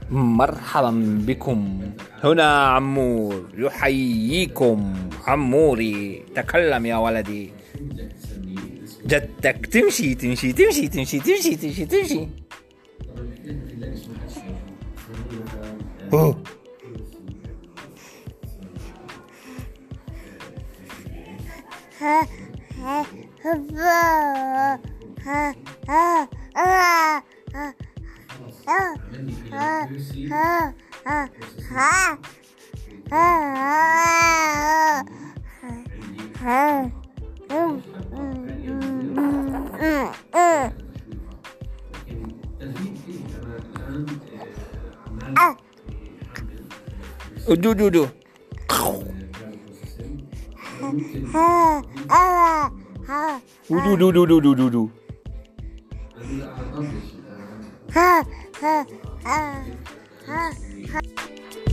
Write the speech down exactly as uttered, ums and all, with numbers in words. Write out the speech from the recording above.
مرحبا بكم. هنا عمور يحييكم. عموري تكلم يا ولدي. جدك تمشي تمشي تمشي تمشي تمشي تمشي تمشي. أوه. ها ها ها ها ها ها ها ها دو دو دو دو دو دو دو دو دو ha ha ha ha ha